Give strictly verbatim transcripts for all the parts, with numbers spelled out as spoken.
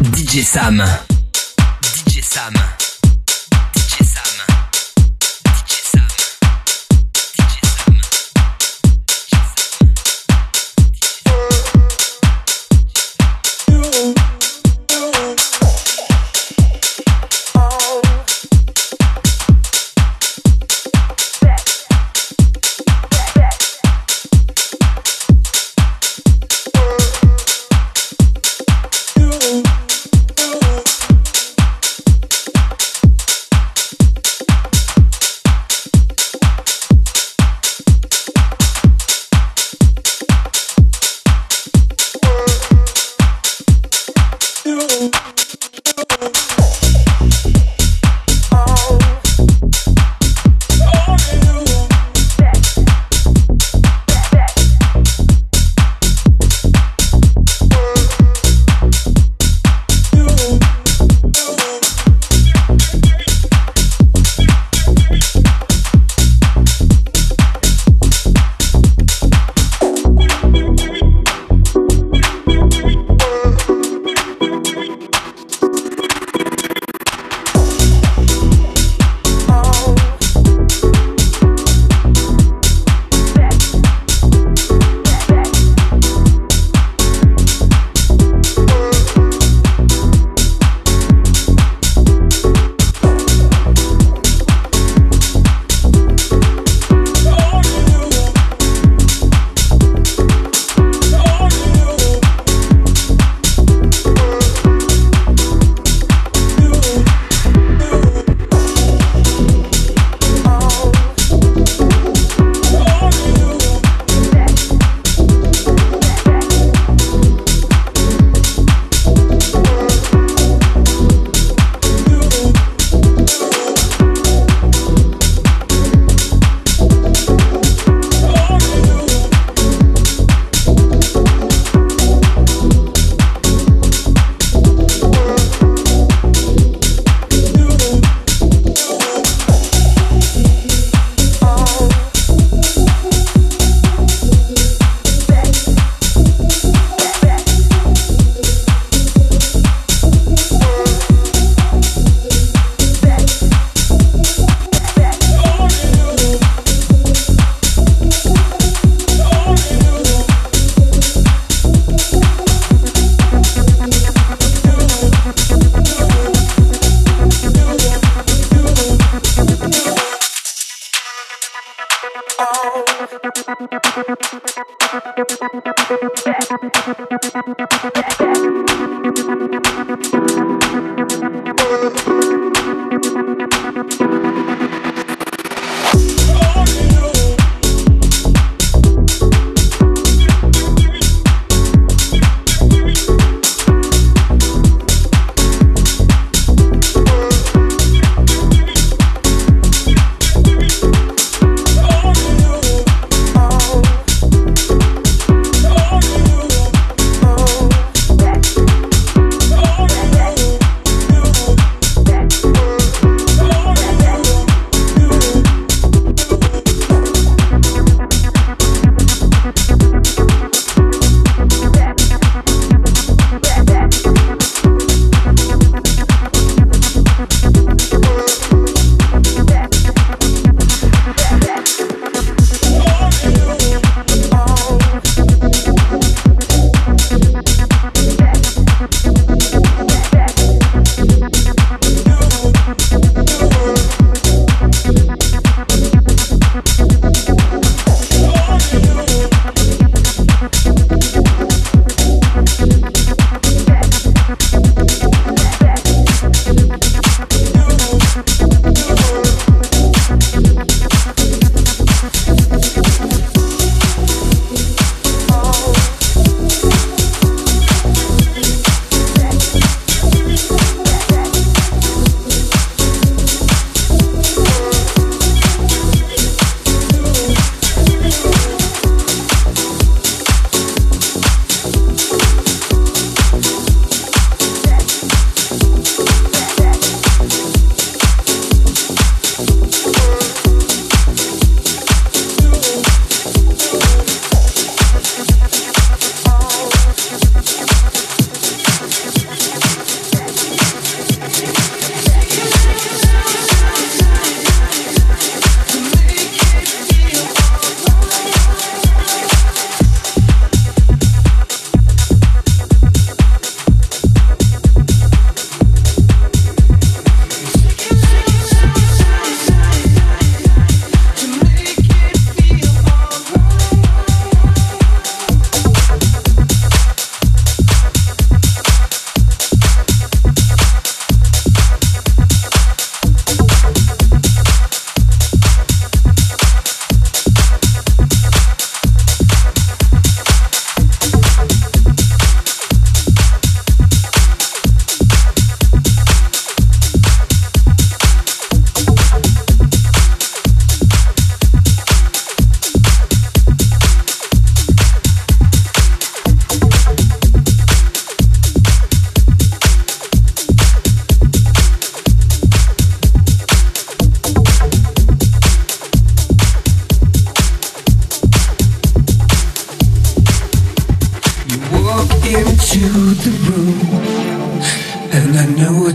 D J Sam. D J Sam. D J Sam. D J Sam. D J Sam.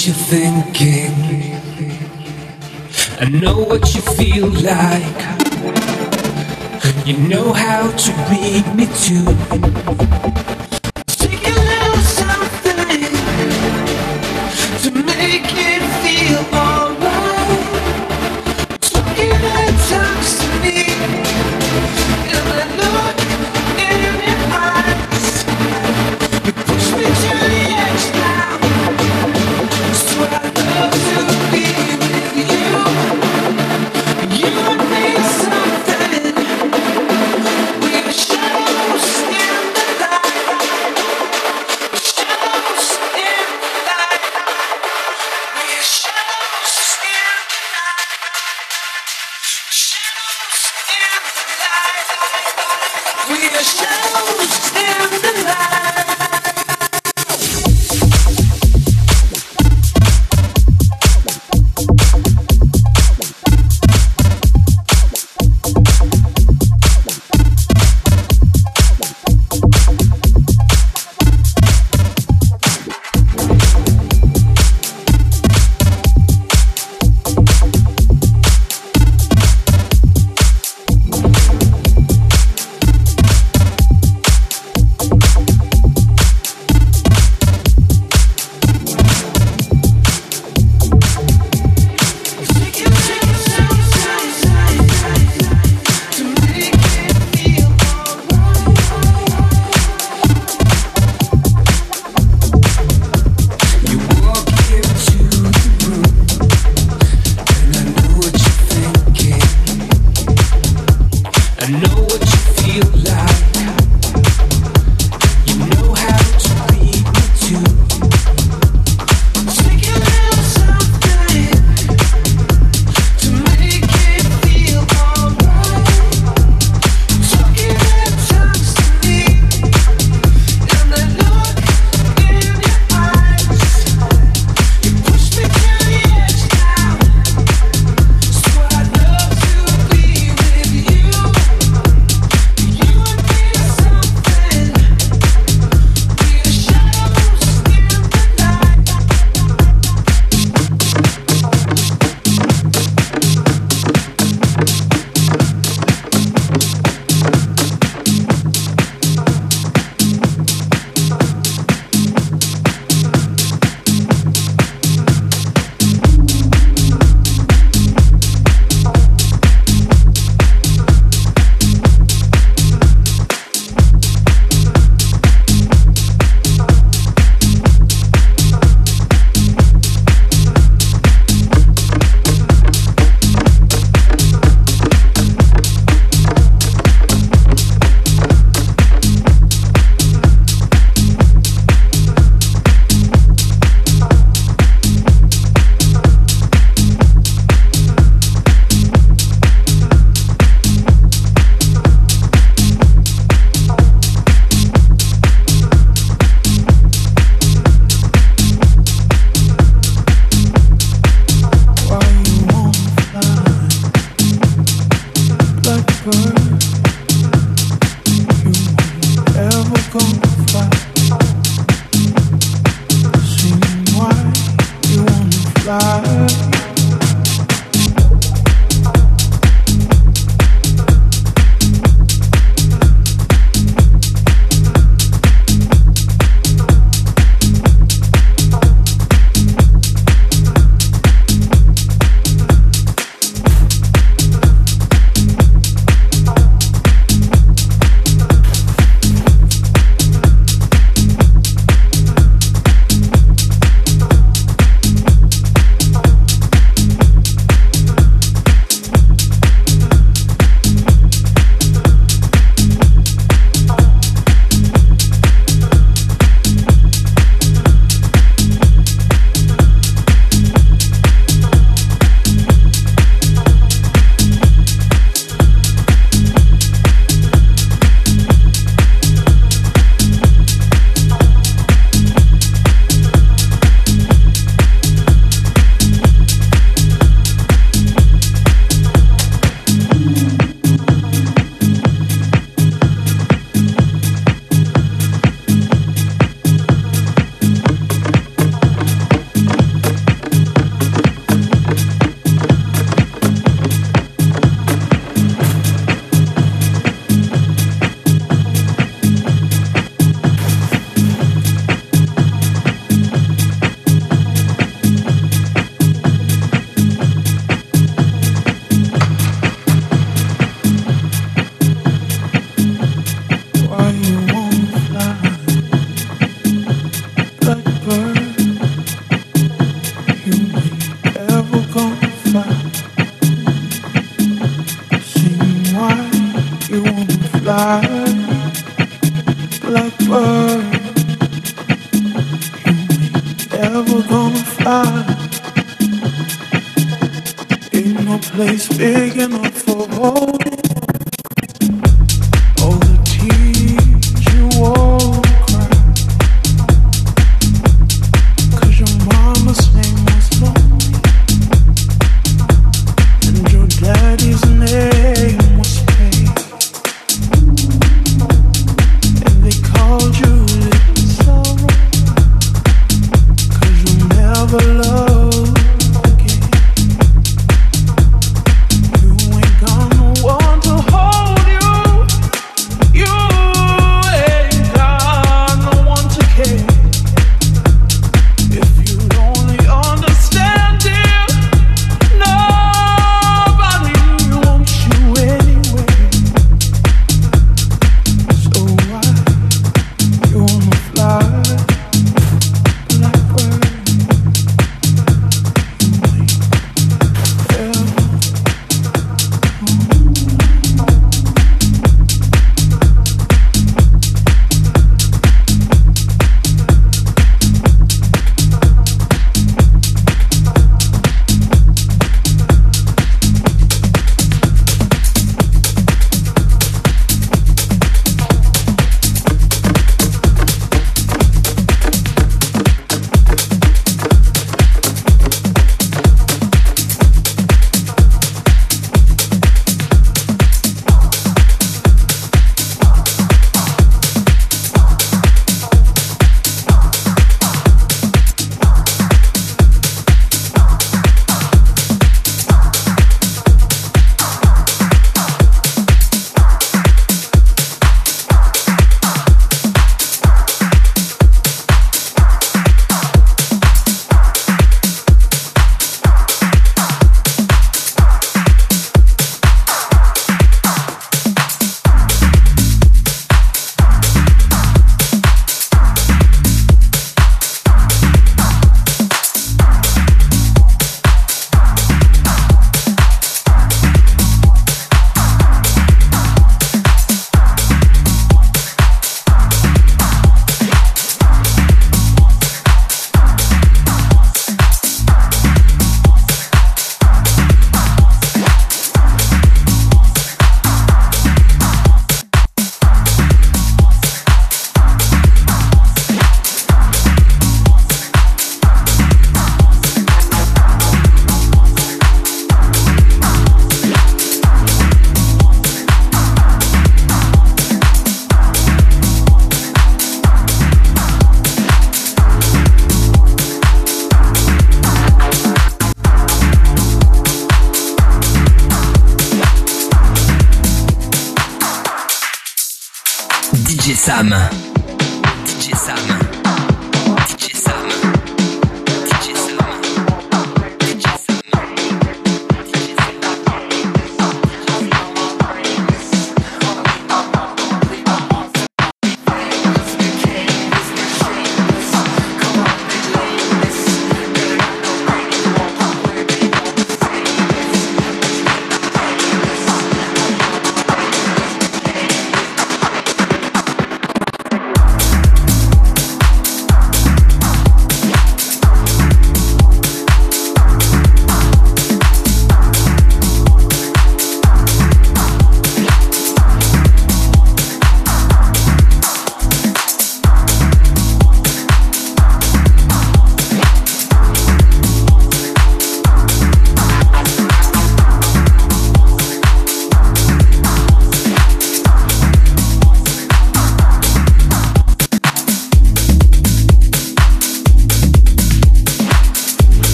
what you're thinking. I know what you feel like. You know how to read me too. Take a little something to make it feel alright. Talking at times to me, and I look in your eyes. You push me to the edge now. So I love to be with you. You and me something. We're shadows in the light. Shadows in the light. We're shadows in the light. Shadows in the light. We're shadows in the light. never gonna fly. Ain't no place big enough for holding all the tears you won't cry. 'Cause your mama's name was lonely and your daddy's name was pain, and they called you Little Sorrow 'cause you never loved again. You ain't got no one to hold you. You ain't got no one to care. If you'd only understand, dear, nobody wants you anyway. So why you wanna fly like bird? You ain't ever D J Sam. D J Sam. D J Sam. D J Sam. D J Sam.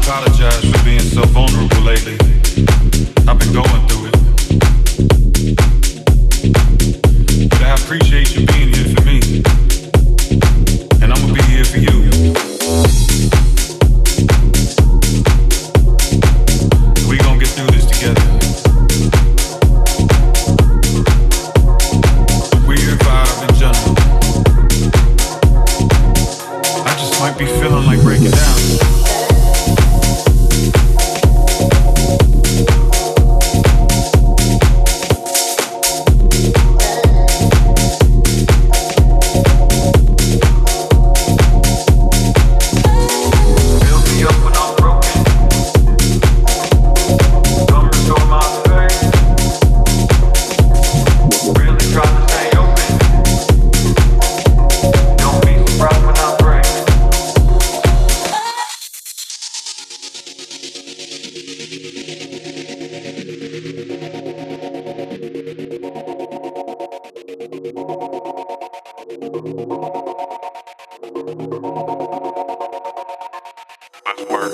apologize for being so vulnerable lately. I've been going through it. But I appreciate you being here for me. And I'm gonna be here for you. We gonna get through this together. The weird vibe in general. I just might be feeling like breaking down. Let's work.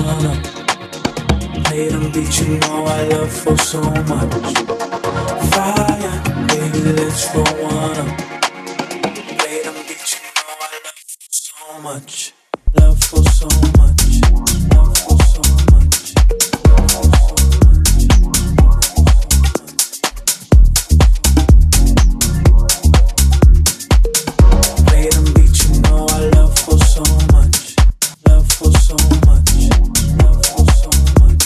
Play them beat, you know I love for so much. Fire. let's roll one up. Play them beats, you know I love for so much. Love for so much. Love for so much. Love for so much. Play them beats, you know I love for so much. Love for so much. Love for so much.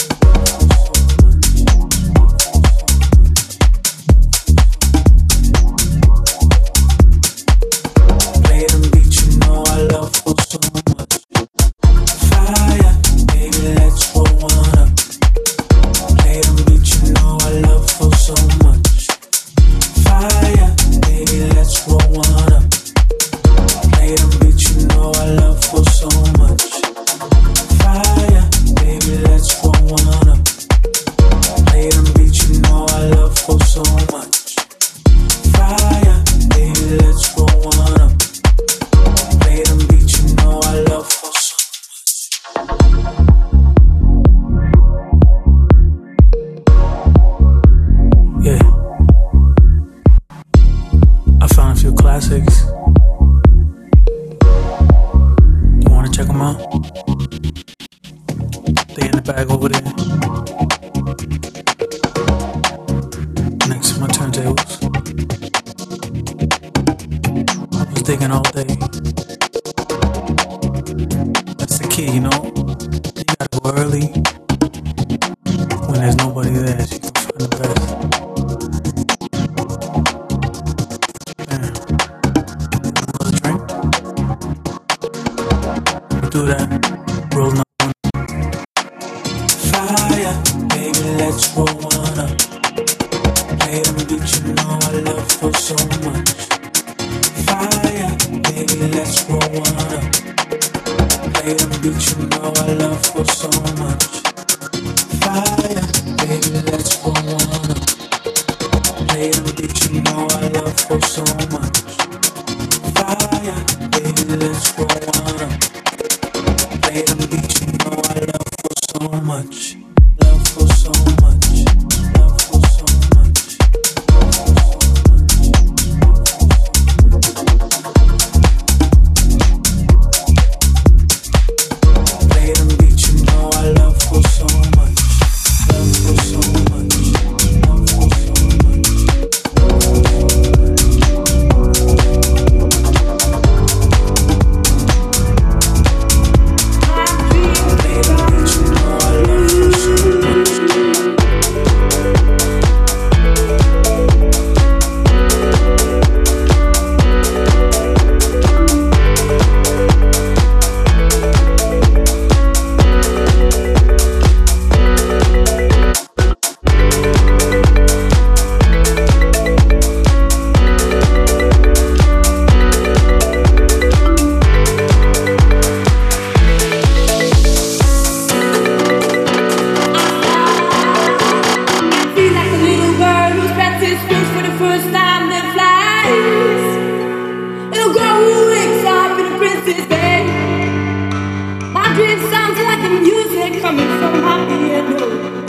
Play them beats, you know I love for so much. Fire, baby, let's roll one up. Play them beats, you know I love for so much. Fire, baby, let's roll one up. Play them beats, you know I love for so much. Fire, baby, let's roll one up. Play them beats, you know I love for so much. Fire, baby, let's roll one up. Play them beats, you know I love for so much. Yeah, I found a few classics. You wanna check them out? They in the bag over there, next to my turntables. I was digging all day. That's the key, you know. You gotta go early when there's nobody there, so you can find the best. Yeah. Another drink? We'll do that. Roll another one. Fire, baby, let's roll one up. Play them beats, you know I love for so much. Fire, baby, let's roll one up. Play them beats, you know I love for so much. Fire, baby, let's roll one up. Play them beats, you know I love for so much. Fire, baby, let's roll one up. Play them beats, you know I love for so much. Love for so much. Love for so much. Play them beats, you know I love for so much. Love for so much. Love for so much. Play them beats, you know I love for so much. Feel like a little bird who's practiced wings for the first time that flies. Little girl who wakes up in a princess bed. My dream sounds like the music coming from my piano.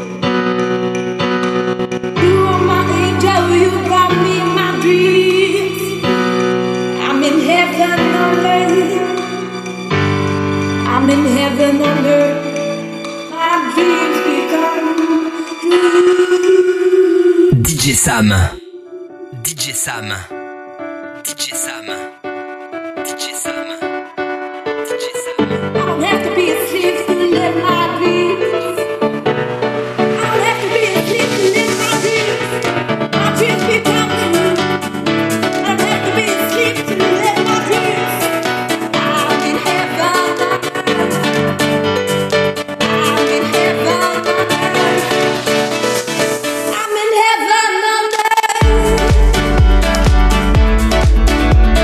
You are my angel, you brought me my dreams. I'm in heaven on earth. I'm in heaven on earth. My dreams become true. D J Sam. D J Sam. D J Sam. D J Sam. D J Sam. I don't have to be asleep to live my dreams. I don't have to be asleep to live my dreams. My dreams become true. I don't have to be asleep to live my dreams. I'm in heaven on earth. I'm in heaven on earth. I'm in heaven on earth.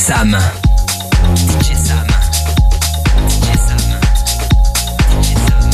Sam. D J Sam. D J Sam. D J Sam.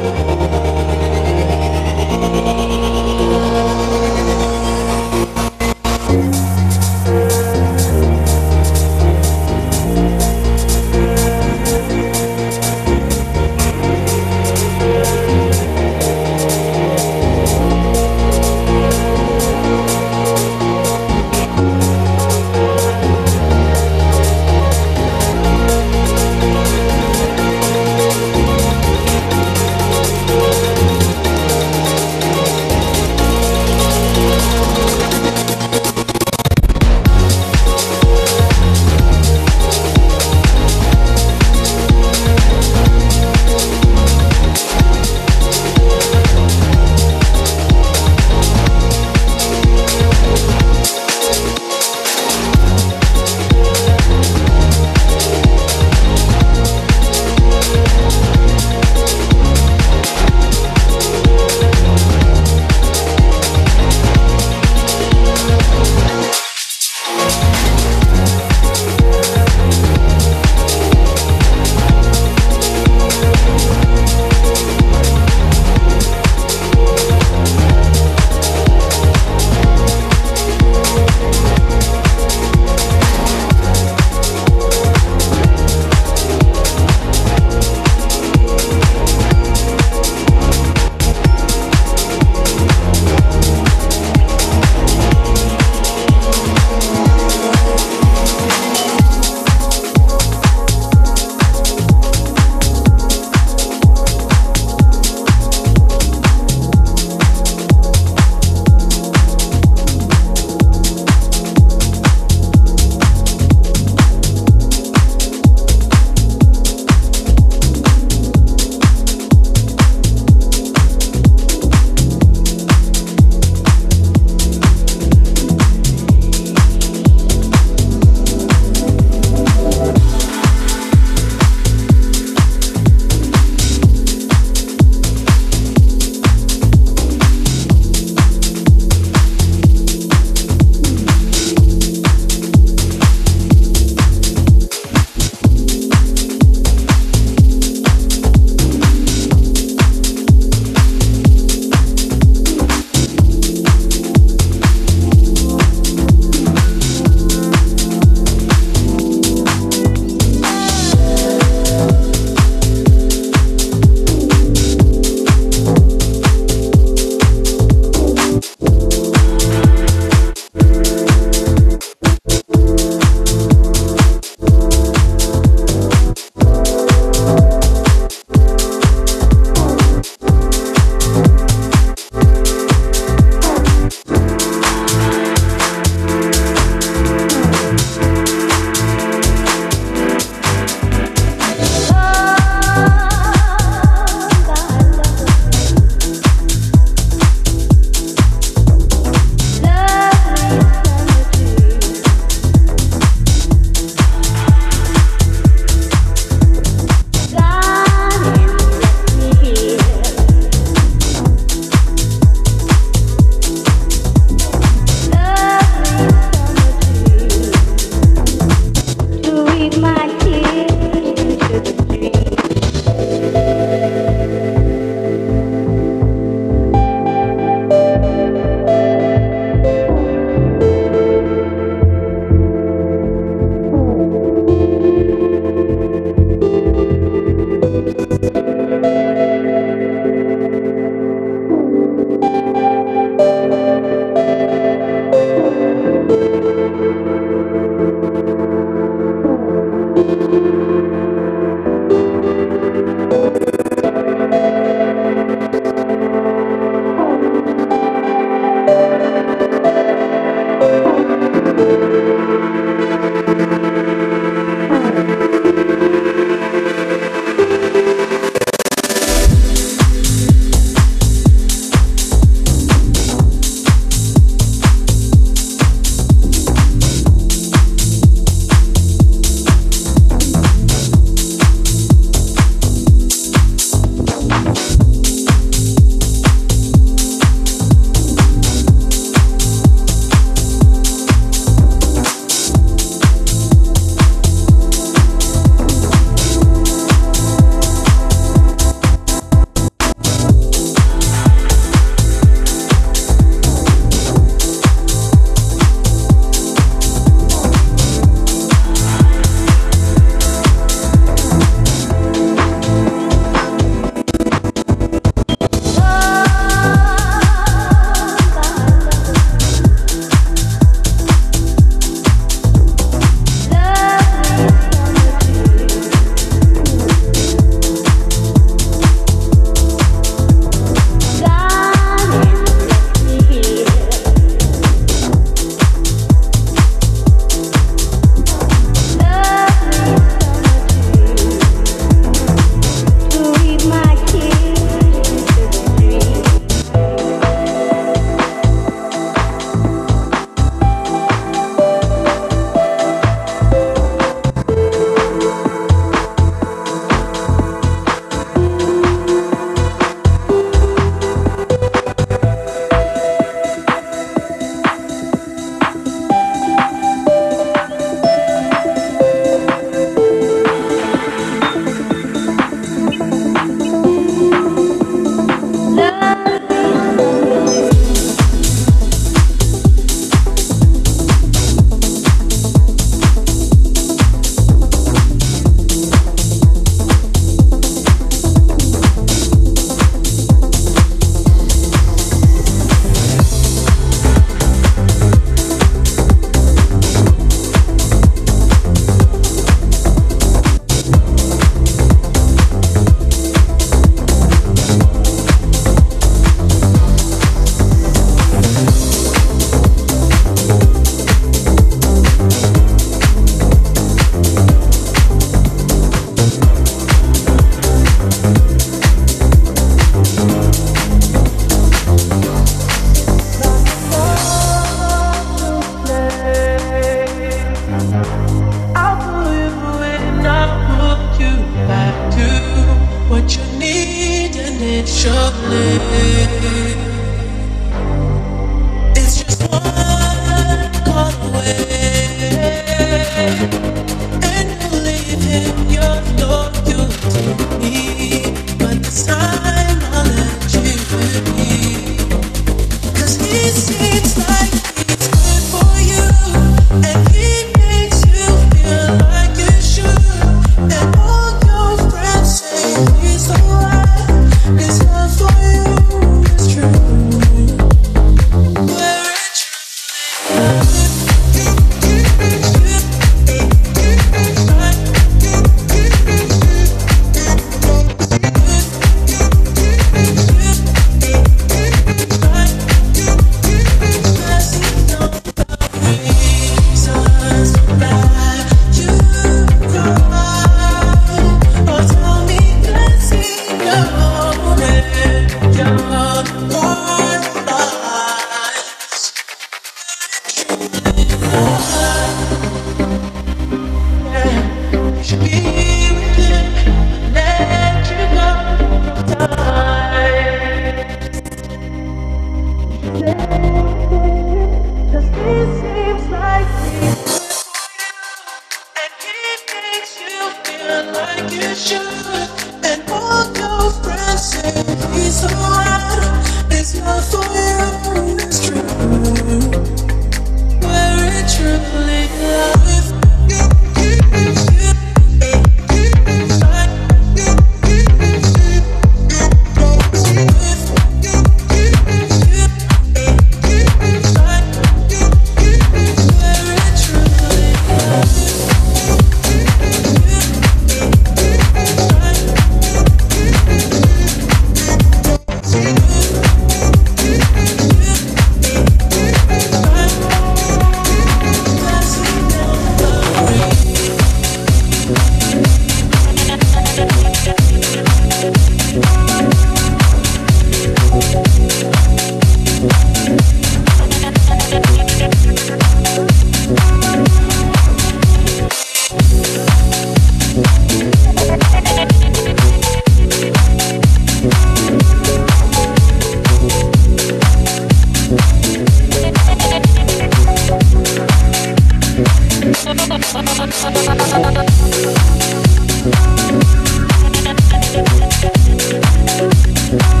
We'll be right back.